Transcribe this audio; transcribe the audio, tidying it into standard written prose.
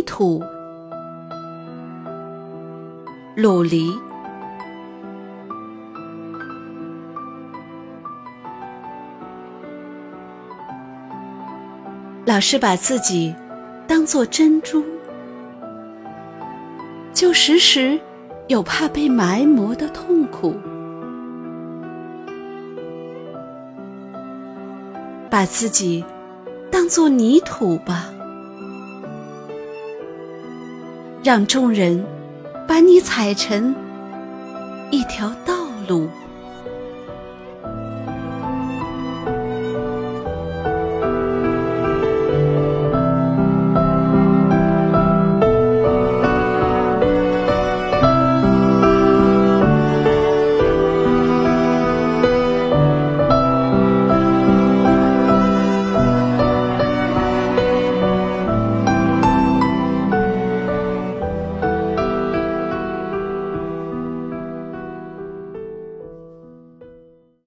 土。鲁离。老是把自己当作珍珠，就时时有怕被埋没的痛苦。把自己当作泥土吧，让众人把你踩成一条道路。